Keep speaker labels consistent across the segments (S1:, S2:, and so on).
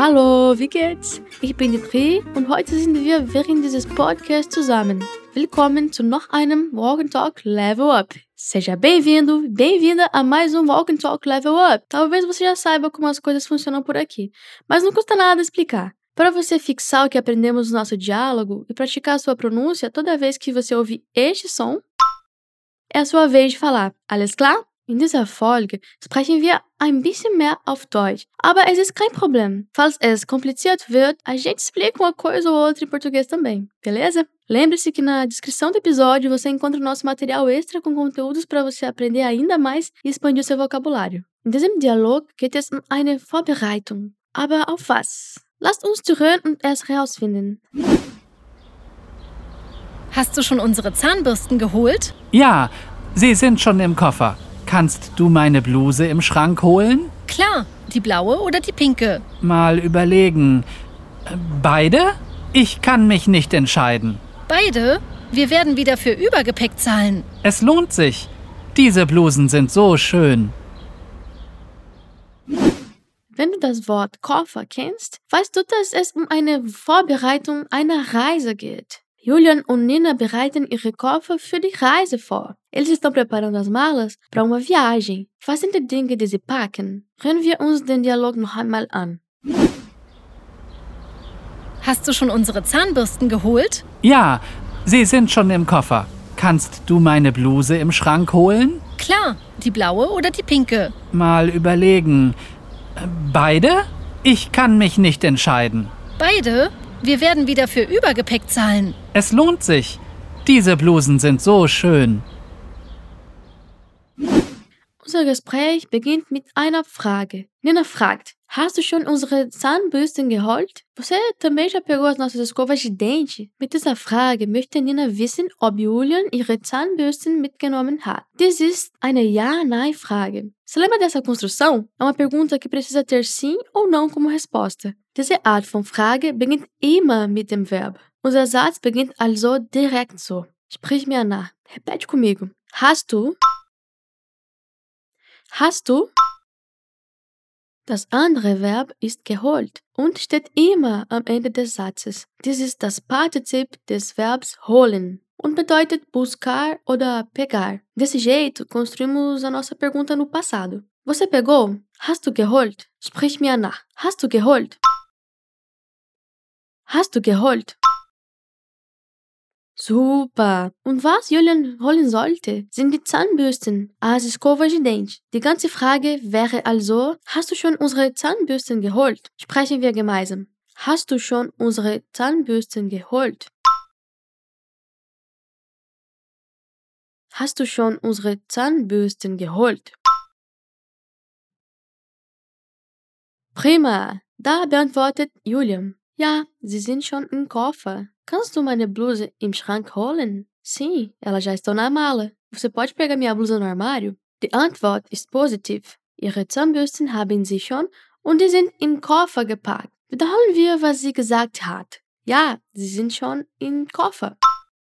S1: Hallo, wie geht's? Ich bin die Pri und heute sind wir während dieses Podcasts zusammen. Willkommen zu noch einem Walk and Talk Level Up. Seja bem-vindo, bem-vinda a mais um Walk and Talk Level Up. Talvez você já saiba como as coisas funcionam por aqui, mas não custa nada explicar. Para você fixar o que aprendemos no nosso diálogo e praticar a sua pronúncia toda vez que você ouvir este som, é a sua vez de falar. Alles klar? In dieser Folge sprechen wir ein bisschen mehr auf Deutsch, aber es ist kein Problem. Falls es kompliziert wird, a gente explica uma coisa ou outra em português também, beleza? Lembre-se que na descrição do episódio você encontra o nosso material extra com conteúdos para você aprender ainda mais e expandir o seu vocabulário. In diesem Dialog geht es um eine Vorbereitung. Aber auf was? Lasst uns zuhören und es herausfinden.
S2: Hast du schon unsere Zahnbürsten geholt?
S3: Ja, sie sind schon im Koffer. Kannst du meine Bluse im Schrank holen?
S2: Klar, die blaue oder die pinke?
S3: Mal überlegen. Beide? Ich kann mich nicht entscheiden.
S2: Beide? Wir werden wieder für Übergepäck zahlen.
S3: Es lohnt sich. Diese Blusen sind so schön.
S1: Wenn du das Wort Koffer kennst, weißt du, dass es um eine Vorbereitung einer Reise geht. Julian und Nina bereiten ihre Koffer für die Reise vor. Eles estão preparando as malas para uma viagem. Was sind die Dinge, die sie packen? Hören wir uns den Dialog noch einmal an.
S2: Hast du schon unsere Zahnbürsten geholt?
S3: Ja, sie sind schon im Koffer. Kannst du meine Bluse im Schrank holen?
S2: Klar, die blaue oder die pinke?
S3: Mal überlegen. Beide? Ich kann mich nicht entscheiden.
S2: Beide? Wir werden wieder für Übergepäck zahlen.
S3: Es lohnt sich. Diese Blusen sind so schön.
S1: Unser Gespräch beginnt mit einer Frage. Nina fragt, hast du schon unsere Zahnbürsten geholt? Você também já pegou as nossas escovas de dente? Mit dieser Frage möchte Nina wissen, ob Julian ihre Zahnbürsten mitgenommen hat. Dies ist eine Ja-Nein-Frage. Você lembra dessa construção? É uma pergunta que precisa ter sim ou não como resposta. Diese Art von Frage beginnt immer mit dem Verb. Unser Satz beginnt also direkt so. Sprich mir nach. Repete comigo. Hast du? Hast du? Das andere Verb ist geholt und steht immer am Ende des Satzes. Dies ist das Partizip des Verbs holen und bedeutet buscar oder pegar. Desse jeito, construímos a nossa pergunta no passado. Você pegou? Hast du geholt? Sprich mir nach. Hast du geholt? Hast du geholt? Super! Und was Julian holen sollte, sind die Zahnbürsten, as escovas de dente. Die ganze Frage wäre also, hast du schon unsere Zahnbürsten geholt? Sprechen wir gemeinsam. Hast du schon unsere Zahnbürsten geholt? Hast du schon unsere Zahnbürsten geholt? Prima! Da beantwortet Julian. Ja, sie sind schon im Koffer. Kannst du meine Bluse im Schrank holen? Sim, elas já estão na mala. Você pode pegar minha blusa no armário? Die Antwort ist positiv. Ihre Zahnbürsten haben sie schon und die sind im Koffer gepackt. Wiederholen wir, was sie gesagt hat. Ja, sie sind schon im Koffer.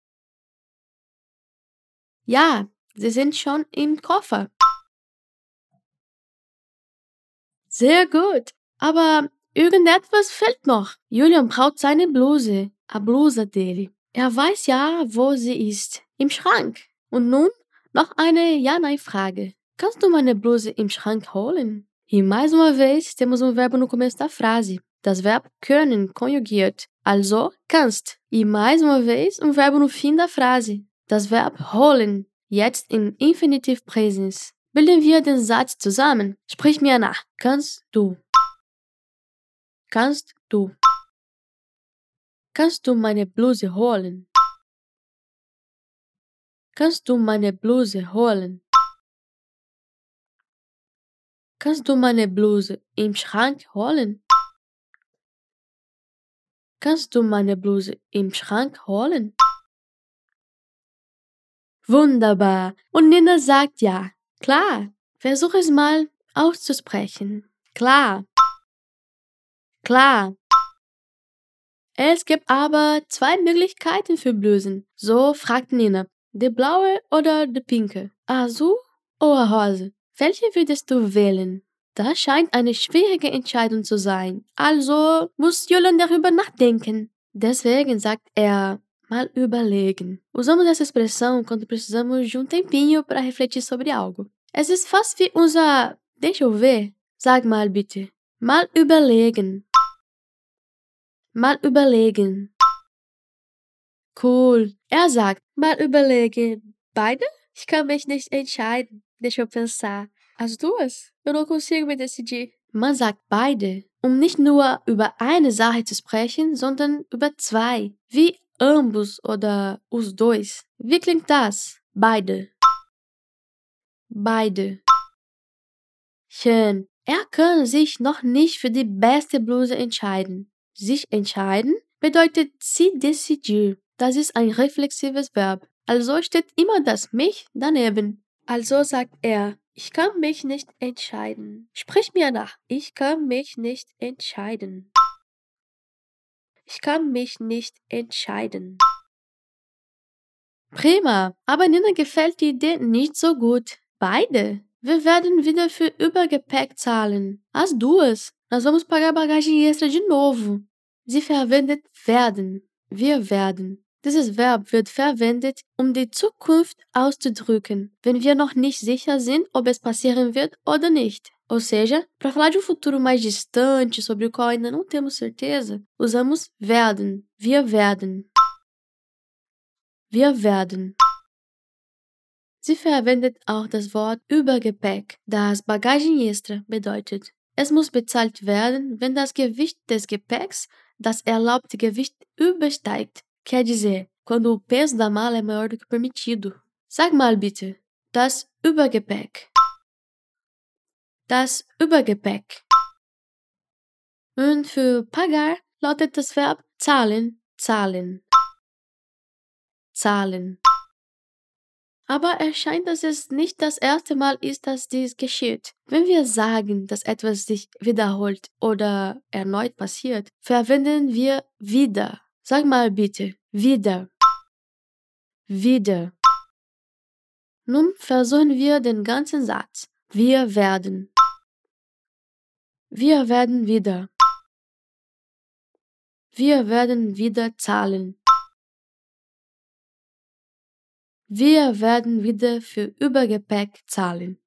S1: Ja, sie sind schon im Koffer. Sehr gut. Aber irgendetwas fehlt noch. Julian braucht seine Bluse, a blusa dele. Er weiß ja, wo sie ist. Im Schrank. Und nun noch eine Ja-Nein-Frage. Kannst du meine Bluse im Schrank holen? E mais uma vez temos verbo no começo da frase. Das Verb können konjugiert. Also kannst. E mais uma vez verbo no fim da frase. Das Verb holen. Jetzt im Infinitiv Präsens. Bilden wir den Satz zusammen. Sprich mir nach. Kannst du? Kannst du? Kannst du meine Bluse holen? Kannst du meine Bluse holen? Kannst du meine Bluse im Schrank holen? Kannst du meine Bluse im Schrank holen? Wunderbar. Und Nina sagt ja. Klar. Versuch es mal auszusprechen. Klar. Klar. Es gibt aber zwei Möglichkeiten für Blusen. So fragt Nina. Die blaue oder die pinke? Azul ou a rosa? Welche würdest du wählen? Das scheint eine schwierige Entscheidung zu sein. Also muss Julian darüber nachdenken. Deswegen sagt er, mal überlegen. Usamos essa expressão quando precisamos de um tempinho para refletir sobre algo. Es ist fast wie unser deixa eu ver. Sag mal bitte. Mal überlegen. Mal überlegen. Cool. Er sagt, mal überlegen. Beide? Ich kann mich nicht entscheiden. Deixa eu pensar. As duas? Eu não consigo me decidir. Man sagt beide, nicht nur über eine Sache zu sprechen, sondern über zwei. Wie ambos oder os dois. Wie klingt das? Beide. Beide. Schön. Er kann sich noch nicht für die beste Bluse entscheiden. Sich entscheiden bedeutet se decidir. Das ist ein reflexives Verb. Also steht immer das mich daneben. Also sagt er, ich kann mich nicht entscheiden. Sprich mir nach. Ich kann mich nicht entscheiden. Ich kann mich nicht entscheiden. Prima, aber Nina gefällt die Idee nicht so gut. Beide. Wir werden wieder für Übergepäck zahlen. As duas. Nós vamos pagar bagagem extra de novo. Sie verwendet werden. Wir werden. Dieses Verb wird verwendet, die Zukunft auszudrücken, wenn wir noch nicht sicher sind, ob es passieren wird oder nicht. Ou seja, para falar de futuro mais distante, sobre o qual ainda não temos certeza, usamos werden. Wir werden. Wir werden. Sie verwendet auch das Wort Übergepäck, das Bagagem extra bedeutet. Es muss bezahlt werden, wenn das Gewicht des Gepäcks das erlaubte Gewicht übersteigt. Quer dizer, quando o peso da mala é maior do que o permitido. Sag mal bitte. Das Übergepäck. Das Übergepäck. Und für pagar lautet das Verb zahlen, zahlen. Zahlen. Aber es scheint, dass es nicht das erste Mal ist, dass dies geschieht. Wenn wir sagen, dass etwas sich wiederholt oder erneut passiert, verwenden wir wieder. Sag mal bitte, wieder. Wieder. Nun versuchen wir den ganzen Satz. Wir werden. Wir werden wieder. Wir werden wieder zahlen. Wir werden wieder für Übergepäck zahlen.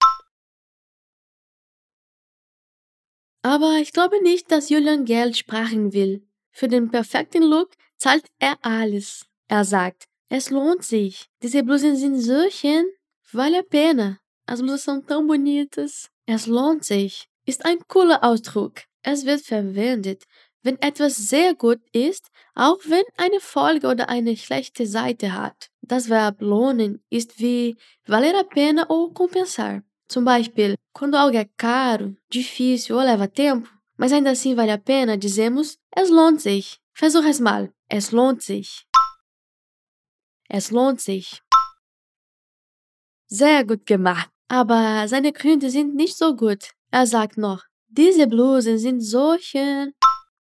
S1: Aber ich glaube nicht, dass Julian Geld sparen will. Für den perfekten Look zahlt er alles. Er sagt, es lohnt sich. Diese Blusen sind so schön. Vale a pena. As blusas são tão bonitas. Es lohnt sich. Ist ein cooler Ausdruck. Es wird verwendet, wenn etwas sehr gut ist, auch wenn eine Folge oder eine schlechte Seite hat. Das Verb lohnen ist wie valer a pena ou compensar. Zum Beispiel, quando algo é caro, difícil ou leva tempo, mas ainda assim vale a pena, dizemos es lohnt sich. Versuch es mal. Es lohnt sich. Es lohnt sich. Sehr gut gemacht. Aber seine Gründe sind nicht so gut. Er sagt noch, diese Blusen sind so schön.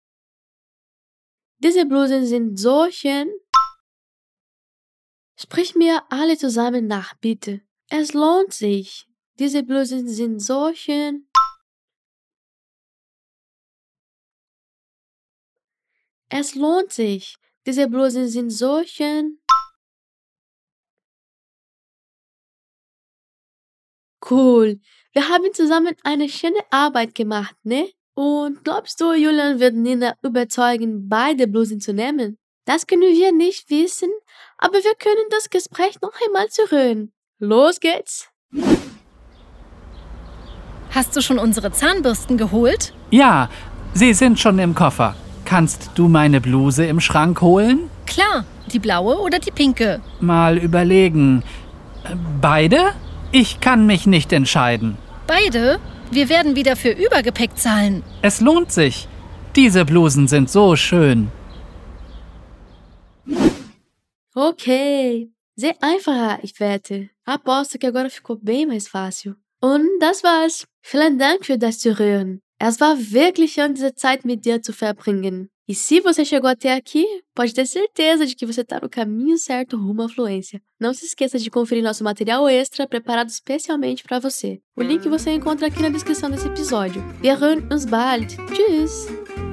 S1: Diese Blusen sind so schön. Sprich mir alle zusammen nach, bitte. Es lohnt sich. Diese Blusen sind so schön. Es lohnt sich. Diese Blusen sind so schön. Cool. Wir haben zusammen eine schöne Arbeit gemacht, ne? Und glaubst du, Julian wird Nina überzeugen, beide Blusen zu nehmen? Das können wir nicht wissen, aber wir können das Gespräch noch einmal zuhören. Los geht's!
S2: Hast du schon unsere Zahnbürsten geholt?
S3: Ja, sie sind schon im Koffer. Kannst du meine Bluse im Schrank holen?
S2: Klar, die blaue oder die pinke?
S3: Mal überlegen. Beide? Ich kann mich nicht entscheiden.
S2: Beide? Wir werden wieder für Übergepäck zahlen.
S3: Es lohnt sich. Diese Blusen sind so schön.
S1: Ok, sehr einfacher, ich wette. Aposto que agora ficou bem mais fácil. Und das war's. Vielen Dank für das Zuhören. Es war wirklich schön, diese Zeit mit dir zu verbringen. E se você chegou até aqui, pode ter certeza de que você está no caminho certo rumo à fluência. Não se esqueça de conferir nosso material extra preparado especialmente para você. O link você encontra aqui na descrição desse episódio. Wir hören uns bald. Tschüss!